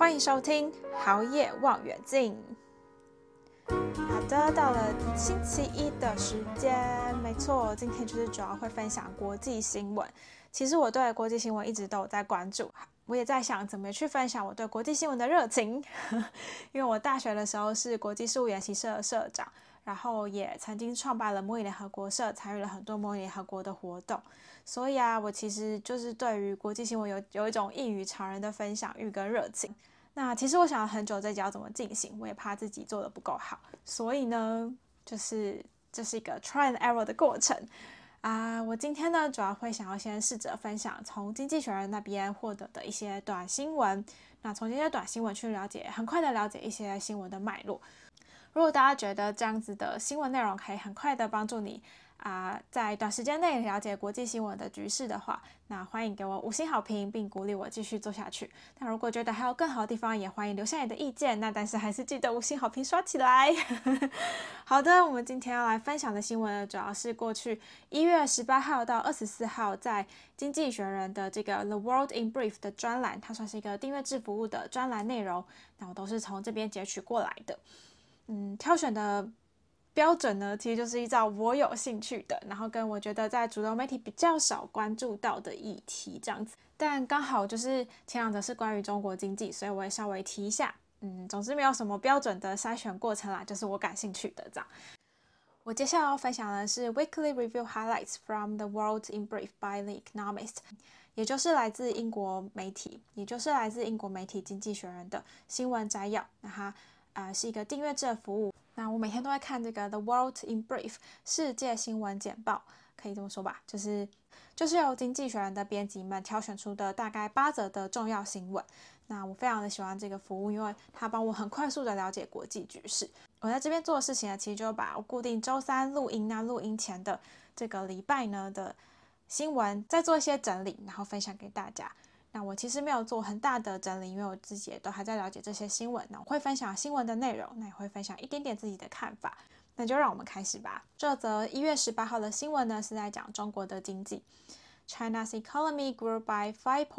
歡迎收聽好野望遠鏡。好的，到了星期一的時間，沒錯，今天就是主要會分享國際新聞。其實我對國際新聞一直都有在關注，我也在想怎麼去分享我對國際新聞的熱情。因為我大學的時候是國際事務研習社的社長，然後也曾經創辦了模擬聯合國社，參與了很多模擬聯合國的活動。所以我其實就是對於國際新聞有一種異於常人的分享欲跟熱情。那其實我想了很久這集要怎麼進行，我也怕自己做得不夠好，所以呢，這是一個 try and error 的過程我今天呢，主要會想要先試着分享從經濟學人那邊獲得的一些短新聞，那從這些短新聞去很快的了解一些新聞的脈絡。如果大家覺得這樣子的新聞內容可以很快的幫助你在短時間內了解國際新聞的局勢的話，那歡迎給我5星好評，並鼓勵我繼續做下去。那如果覺得還有更好的地方，也歡迎留下你的意見。那但是還是記得5星好評刷起來。好的，我們今天要來分享的新聞呢，主要是過去1月18號到24號在經濟學人的這個 The World in Brief 的專欄，它算是一個訂閱制服務的專欄內容，那我都是從這邊截取過來的。挑選的標準呢，其實就是依照我有興趣的，然後跟我覺得在主流媒體比較少關注到的議題這樣子。但剛好就是前兩則是關於中國經濟，所以我也稍微提一下。總之沒有什麼標準的篩選過程啦，就是我感興趣的這樣。我接下來要分享的是 Weekly Review Highlights from the World in Brief by The Economist， 也就是来自英國媒体經濟學人的新聞摘要。那它是一個訂閱制的服務。那我每天都會看這個 The World in Brief 世界新聞簡報，可以這麼說吧，就是由經濟學人的編輯們挑選出的大概8則的重要新聞。那我非常的喜歡這個服務，因為它幫我很快速的了解國際局勢。我在這邊做的事情呢，其實就把我固定周3錄音，那錄音前的這個禮拜呢的新聞再做一些整理，然後分享給大家。那我其實沒有做很大的整理，因為我自己也都還在了解這些新聞。那我會分享新聞的內容，那也會分享一點點自己的看法。那就讓我們開始吧。這則1月18號的新聞呢，是在講中國的經濟。China's economy grew by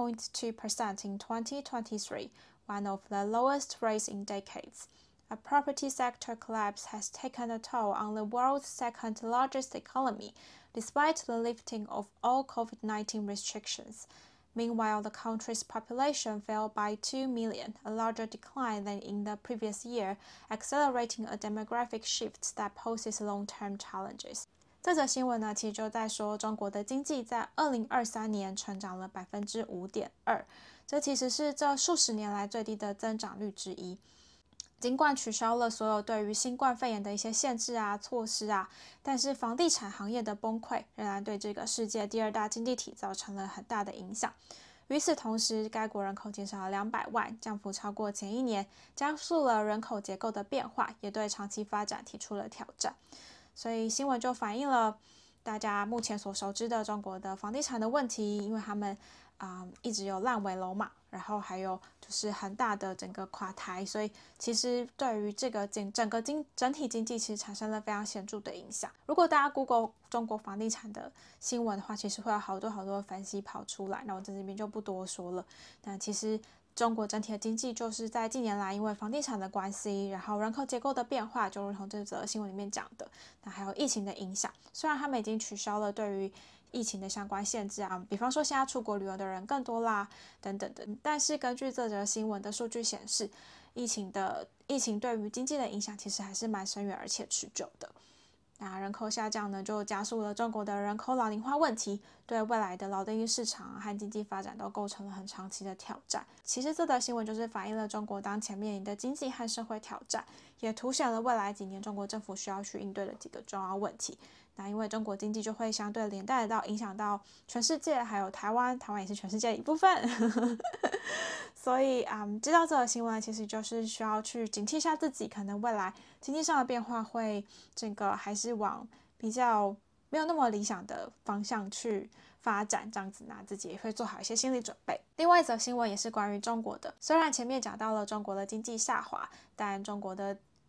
5.2% in 2023, one of the lowest rates in decades. A property sector collapse has taken a toll on the world's second largest economy, despite the lifting of all COVID-19 restrictions.Meanwhile, the country's population fell by 2 million, a larger decline than in the previous year, accelerating a demographic shift that poses long-term challenges. 這則新聞呢，其實就在說中國的經濟在2023年成長了 5.2%， 這其實是這數十年來最低的增長率之一。儘管取消了所有對於新冠肺炎的一些限制措施但是房地產行業的崩潰仍然對這個世界第2大經濟體造成了很大的影響。與此同時，該國人口減少了200萬，降幅超過前一年，加速了人口結構的變化，也對長期發展提出了挑戰。所以新聞就反映了大家目前所熟知的中國的房地產的問題，因為他們一直有爛尾樓嘛，然後還有就是很大的整個垮台，所以其實對於這個整體經濟其實產生了非常顯著的影響。如果大家 Google 中國房地產的新聞的話，其實會有好多分析跑出來，那我在這邊就不多說了。但其實中國整體的經濟就是在近年來因為房地產的關係，然後人口結構的變化，就如同這則新聞裡面講的，那還有疫情的影響。雖然他們已經取消了對於疫情的相關限制比方說現在出國旅遊的人更多啦，等等的。但是根據這則新聞的數據顯示，疫情對於經濟的影響其實還是蠻深遠而且持久的。那人口下降呢，就加速了中國的人口老齡化問題，對未來的勞動力市場和經濟發展都構成了很長期的挑戰。其實這則新聞就是反映了中國當前面臨的經濟和社會挑戰，也凸顯了未來幾年中國政府需要去應對的幾個重要問題。那因為中國經濟就會相對連帶到影響到全世界，還有台灣也是全世界的一部分。所以知道這個新聞其實就是需要去警惕一下自己，可能未來經濟上的變化會還是往比較沒有那麼理想的方向去發展，這樣子呢自己也會做好一些心理準備。另外一則新聞也是關於中國的，雖然前面講到了中國的經濟下滑，但中國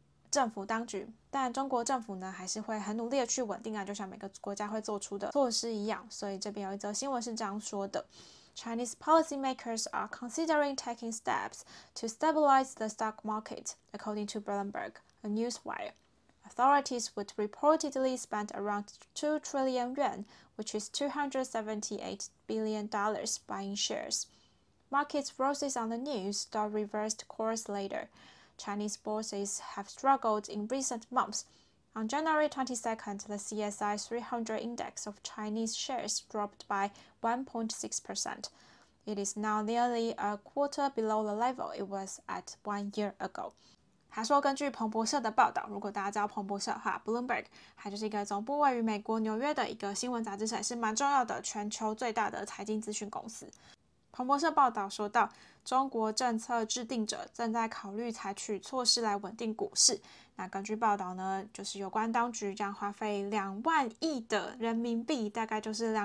政府呢還是會很努力的去穩定就像每個國家會做出的措施一樣。所以這邊有一則新聞是這樣說的。 Chinese policymakers are considering taking steps to stabilize the stock market, according to Bloomberg, a newswire. Authorities would reportedly spend around 2 trillion yuan, which is $278 billion, buying shares. Markets roses on the news, though reversed course later. Chinese bourses have struggled in recent months. On January 22nd, the CSI 300 index of Chinese shares dropped by 1.6%. It is now nearly a quarter below the level it was at 1 year ago. 他說，根據彭博社的報道，如果大家知道彭博社的話 ，Bloomberg 它就是一個總部位於美國紐約的一個新聞雜誌社，也是蠻重要的全球最大的財經資訊公司。彭博社報道說到，中國政策制定者正在考慮採取措施來穩定股市。那根據報道呢，就是有關當局將花費2萬億的人民幣，大概就是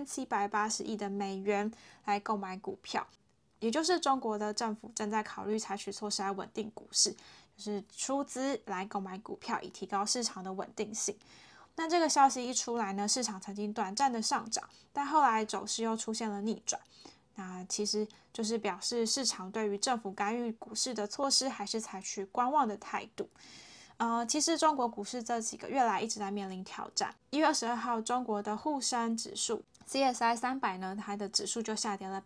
2780億的美元來購買股票。也就是中國的政府正在考慮採取措施來穩定股市，就是出資來購買股票，以提高市場的穩定性。那這個消息一出來呢，市場曾經短暫的上漲，但後來走勢又出現了逆轉。那其實就是表示市場對於政府干預股市的措施還是採取觀望的態度。其實中國股市這幾個月來一直在面臨挑戰。1月22號，中國的滬深指數 CSI 300呢，它的指數就下跌了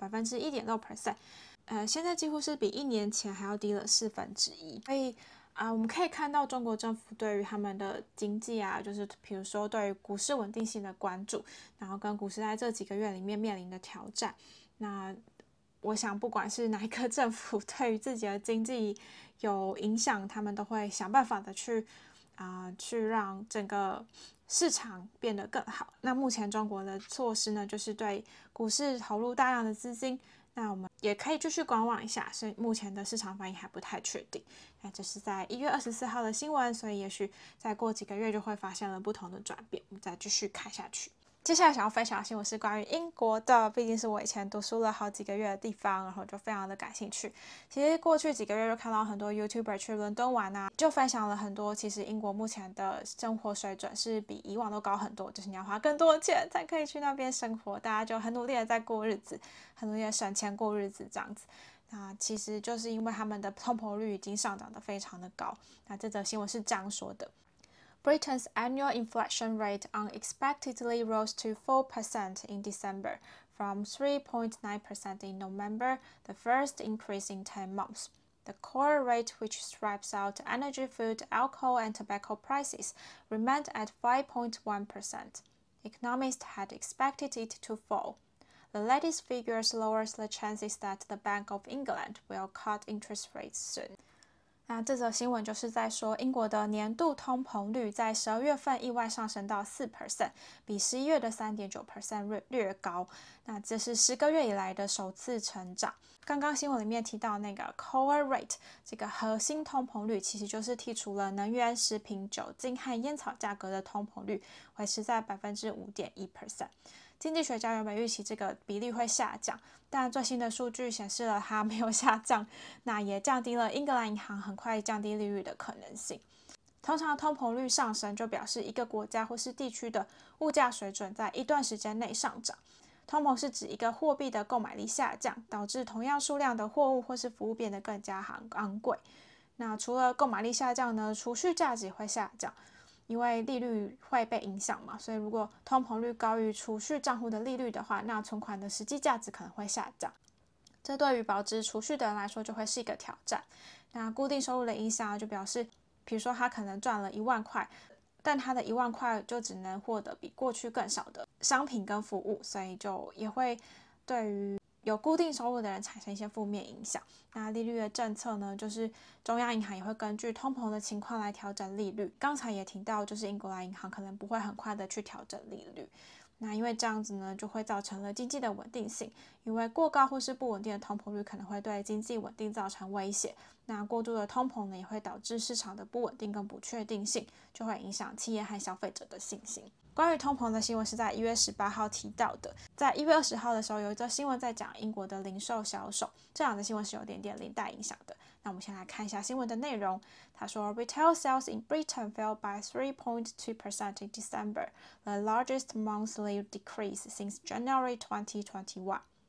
1.6%，現在幾乎是比1年前還要低了1/4。所以我們可以看到中國政府對於他們的經濟啊，就是比如說對於股市穩定性的關注，然後跟股市在這幾個月裡面面臨的挑戰。那我想，不管是哪一個政府對於自己的經濟有影響，他們都會想辦法的去讓整個市場變得更好。那目前中國的措施呢，就是對股市投入大量的資金。那我們也可以繼續觀望一下，所以目前的市場反應還不太確定。那這是在1月24號的新聞，所以也許再過幾個月就會發現了不同的轉變。我們再繼續看下去。接下來想要分享的新聞是關於英國的，畢竟是我以前讀書了好幾個月的地方，然後就非常的感興趣。其實過去幾個月就看到很多 YouTuber 去倫敦玩啊，就分享了很多，其實英國目前的生活水準是比以往都高很多，就是你要花更多的錢才可以去那邊生活，大家就很努力的在過日子，很努力的省錢過日子這樣子。那其實就是因為他們的通膨率已經上漲得非常的高。那這則新聞是這樣說的。Britain's annual inflation rate unexpectedly rose to 4% in December, from 3.9% in November, the first increase in 10 months. The core rate, which strips out energy, food, alcohol, and tobacco prices, remained at 5.1%. Economists had expected it to fall. The latest figures lowers the chances that the Bank of England will cut interest rates soon. 那這則新聞就是在說，英國的年度通膨率在12月份意外上升到 4%， 比11月的 3.9% 略高。那這是10個月以來的首次成長。剛剛新聞裡面提到那個 core rate， 這個核心通膨率其實就是剔除了能源、食品、酒精和菸草價格的通膨率，維持在 5.1%。經濟學家原本預期這個比例會下降，但最新的數據顯示了它沒有下降，那也降低了英格蘭銀行很快降低利率的可能性。通常通膨率上升就表示一個國家或是地區的物價水準在一段時間內上漲。通膨是指一個貨幣的購買力下降，導致同樣數量的貨物或是服務變得更加昂貴。那除了購買力下降呢，儲蓄價值會下降。因為利率會被影響嘛，所以如果通膨率高於儲蓄賬戶的利率的話，那存款的實際價值可能會下降。這對於保值儲蓄的人來說就會是一個挑戰。那固定收入的影響就表示，比如說他可能賺了1萬塊，但他的1萬塊就只能獲得比過去更少的商品跟服務，所以就也會對於有固定收入的人產生一些負面影響。那利率的政策呢，就是中央銀行也會根據通膨的情況來調整利率。剛才也提到，就是英格蘭銀行可能不會很快的去調整利率。那因為這樣子呢，就會造成了經濟的穩定性。因為過高或是不穩定的通膨率可能會對經濟穩定造成威脅。那過度的通膨呢，也會導致市場的不穩定跟不確定性，就會影響企業和消費者的信心。關於通膨的新聞是在1月18號提到的，在1月20號的時候有一則新聞在講英國的零售銷售，這兩個新聞是有點連帶影響的。那我們先來看一下新聞的內容。他說 ，Retail sales in Britain fell by 3.2% in December, the largest monthly decrease since January 2021.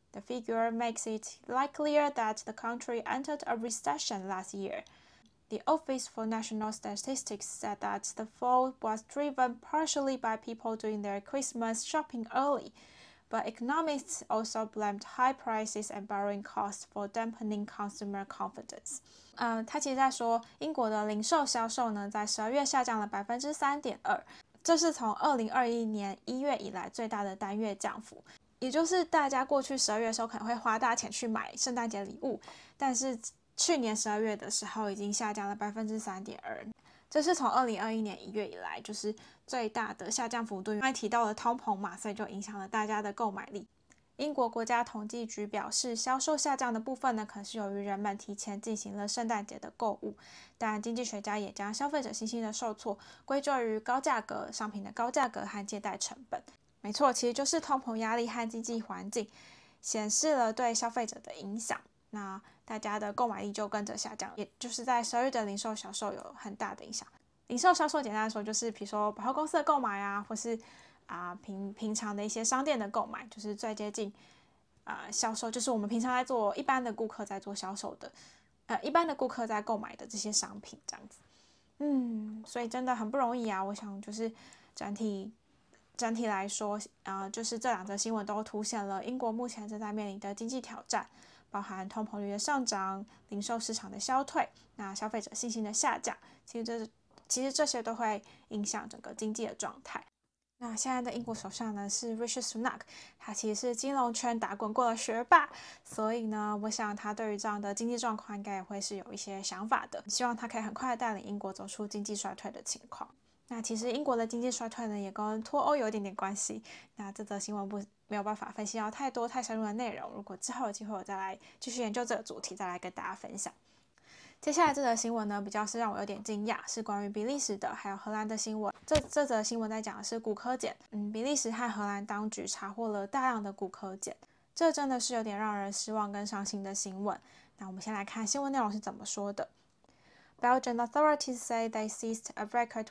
The figure makes it likelier that the country entered a recession last year. The Office for National Statistics said that the fall was driven partially by people doing their Christmas shopping early, but economists also blamed high prices and borrowing costs for dampening consumer confidence. 他其實在說，英國的零售銷售呢，在12月下降了3.2%，這是從2021年1月以來最大的單月降幅。也就是大家過去12月的時候可能會花大錢去買聖誕節禮物，但是去年12月的時候已經下降了3.2%，這是從2021年1月以來就是最大的下降幅度。因為提到了通膨嘛，所以就影響了大家的購買力。英國國家統計局表示，銷售下降的部分呢，可能是由於人們提前進行了聖誕節的購物，但經濟學家也將消費者信心的受挫歸咎於高價格商品的高價格和借貸成本。沒錯，其實就是通膨壓力和經濟環境顯示了對消費者的影響，那大家的購買力就跟着下降，也就是在12月的零售銷售有很大的影響。零售銷售簡單來說就是比如說百貨公司的購買啊，或是平常的一些商店的購買，就是最接近銷售，就是我們平常在做一般的顧客在做銷售的，一般的顧客在購買的這些商品這樣子。所以真的很不容易啊。我想就是整體來說，就是這兩則新聞都凸顯了英國目前正在面臨的經濟挑戰，包含通膨率的上漲、零售市場的消退、那消費者信心的下降，其實這些都會影響整個經濟的狀態。那現在的英國首相呢是 Rishi Sunak， 他其實是金融圈打滾過的學霸，所以呢，我想他對於這樣的經濟狀況應該也會是有一些想法的，希望他可以很快帶領英國走出經濟衰退的情況。那其實英國的經濟衰退呢，也跟脫歐有一點點關係。那這則新聞沒有辦法分析到太多太深入的內容，如果之後有機會我再來繼續研究這個主題，再來跟大家分享。接下來這則新聞呢，比較是讓我有點驚訝，是關於比利時的還有荷蘭的新聞。這則新聞在講的是古柯鹼。比利時和荷蘭當局查獲了大量的古柯鹼，這真的是有點讓人失望跟傷心的新聞。那我們先來看新聞內容是怎麼說的。Belgian authorities say they seized a record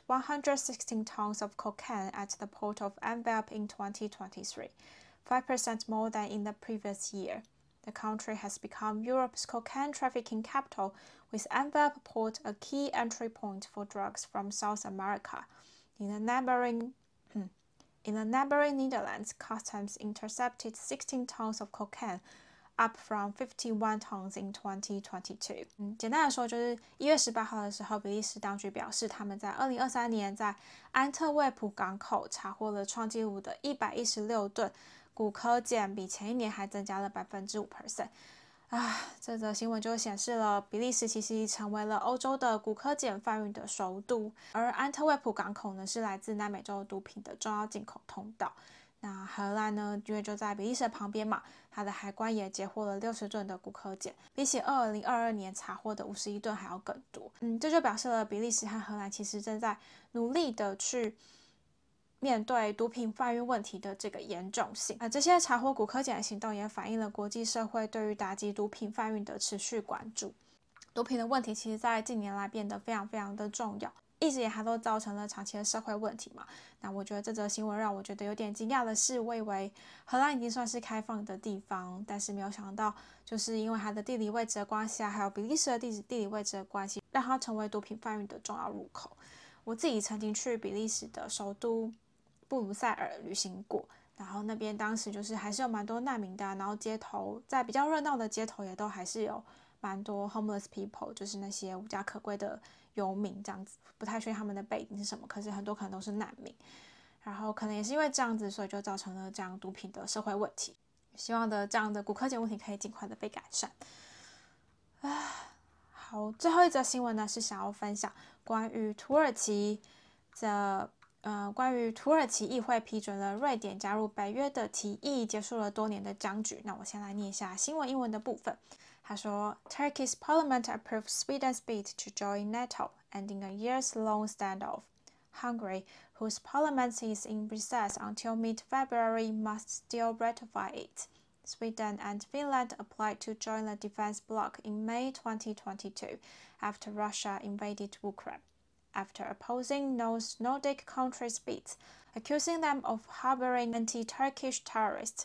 116 tons of cocaine at the port of Antwerp in 2023, 5% more than in the previous year. The country has become Europe's cocaine trafficking capital, with Antwerp port a key entry point for drugs from South America. In the neighboring Netherlands, customs intercepted 16 tons of cocaine, up from 51 tons in 2022. 簡單來說，就是1月18號的時候，比利時當局表示，他們在2023年在安特衛普港口查獲了創紀錄的116噸古柯鹼，比前一年還增加了5%。這則新聞就顯示了比利時其實已成為了歐洲的古柯鹼販運的首都，而安特衛普港口呢是來自南美洲毒品的重要進口通道。那荷蘭呢，因為就在比利時的旁邊嘛，它的海關也截獲了60噸的古柯鹼，比起2022年查獲的51噸還要更多。這就表示了比利時和荷蘭其實正在努力的去面對毒品販運問題的這個嚴重性。這些查獲古柯鹼的行動也反映了國際社會對於打擊毒品販運的持續關注。毒品的問題其實在近年來變得非常非常的重要，一直以來它都造成了長期的社會問題嘛。那我覺得這則新聞讓我覺得有點驚訝的是，我以為荷蘭已經算是開放的地方，但是沒有想到，就是因為它的地理位置的關係還有比利時的地理位置的關係，讓它成為毒品販運的重要入口。我自己曾經去比利時的首都布魯塞爾旅行過，然後那邊當時就是還是有蠻多難民的，然後街頭在比較熱鬧的街頭也都還是有蠻多 homeless people， 就是那些無家可歸的遊民這樣子，不太確定他們的背景是什麼，可是很多可能都是難民，然後可能也是因為這樣子，所以就造成了這樣毒品的社會問題。希望這樣的古柯鹼問題可以盡快的被改善。好，最後一則新聞呢是想要分享關於土耳其議會批准了瑞典加入北約的提議，結束了多年的僵局。那我先來念一下新聞英文的部分。他說 Turkey's parliament approved Sweden's bid to join NATO, ending a years-long standoff. Hungary, whose parliament is in recess until mid-February, must still ratify it. Sweden and Finland applied to join the defense bloc in May 2022 after Russia invaded Ukraine, after opposing Nordic countries' bids, accusing them of harboring anti-Turkish terrorists.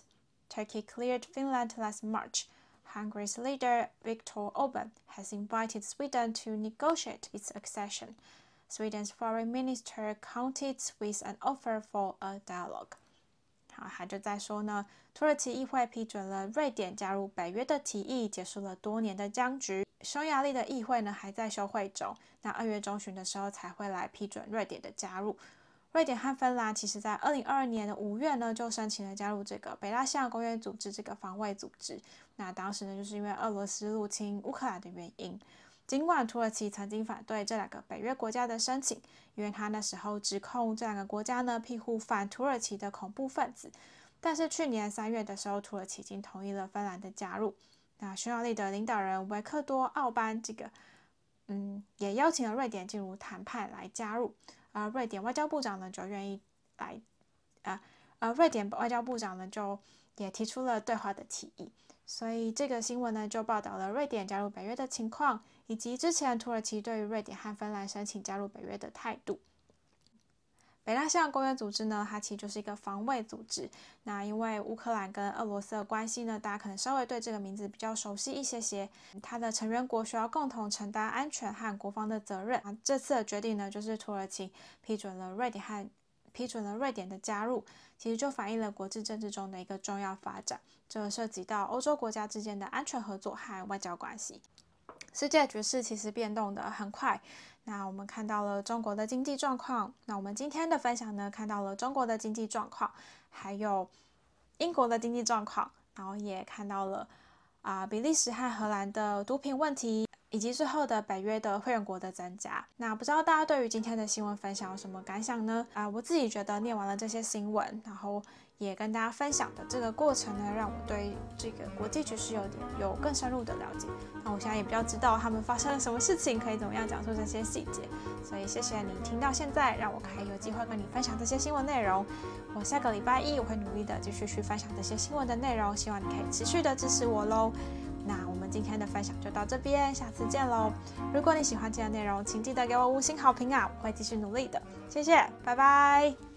Turkey cleared Finland last March. Hungary's leader, Viktor Orbán, has invited Sweden to negotiate its accession. Sweden's foreign minister countered with an offer for a dialogue. 好，他就在說呢，土耳其議會批准了瑞典加入北約的提議，結束了多年的僵局。匈牙利的議會呢還在休會中，那2月中旬的時候才會來批准瑞典的加入。瑞典和芬蘭其實在2022年的5月呢就申請了加入這個北大西洋公約組織這個防衛組織。那當時呢就是因為俄羅斯入侵烏克蘭的原因。儘管土耳其曾經反對這2個北約國家的申請，因為他那時候指控這2個國家呢庇護反土耳其的恐怖分子，但是去年3月的時候，土耳其已經同意了芬蘭的加入。那匈牙利的領導人維克多·奧班也邀請了瑞典進入談判來加入，而瑞典外交部長呢就願意來，瑞典外交部長呢就也提出了對話的提議。所以這個新聞呢就報道了瑞典加入北約的情況，以及之前土耳其對於瑞典和芬蘭申請加入北約的態度。北大西洋公約組織呢，它其實就是一個防衛組織。那因為烏克蘭跟俄羅斯的關係呢，大家可能稍微對這個名字比較熟悉一些。它的成員國需要共同承擔安全和國防的責任。這次的決定呢，就是土耳其批准了瑞典的加入，其實就反映了國際政治中的一個重要發展。這涉及到歐洲國家之間的安全合作和外交關係。世界局勢其實變動得很快。那我們看到了中國的經濟狀況，那我們今天的分享呢，看到了中國的經濟狀況，還有英國的經濟狀況，然後也看到了比利時和荷蘭的毒品問題，以及最後的北約的會員國的增加。那不知道大家對於今天的新聞分享有什麼感想呢？我自己覺得念完了這些新聞，然後也跟大家分享的這個過程呢，讓我對這個國際局勢有更深入的了解。那我現在也比較知道他們發生了什麼事情，可以怎麼樣講述這些細節。所以謝謝你聽到現在，讓我可以有機會跟你分享這些新聞內容。我下個禮拜一我會努力的繼續去分享這些新聞的內容，希望你可以持續的支持我嘍。那我們今天的分享就到這邊，下次見嘍。如果你喜歡今天的內容，請記得給我5星好評啊，我會繼續努力的。謝謝，拜拜。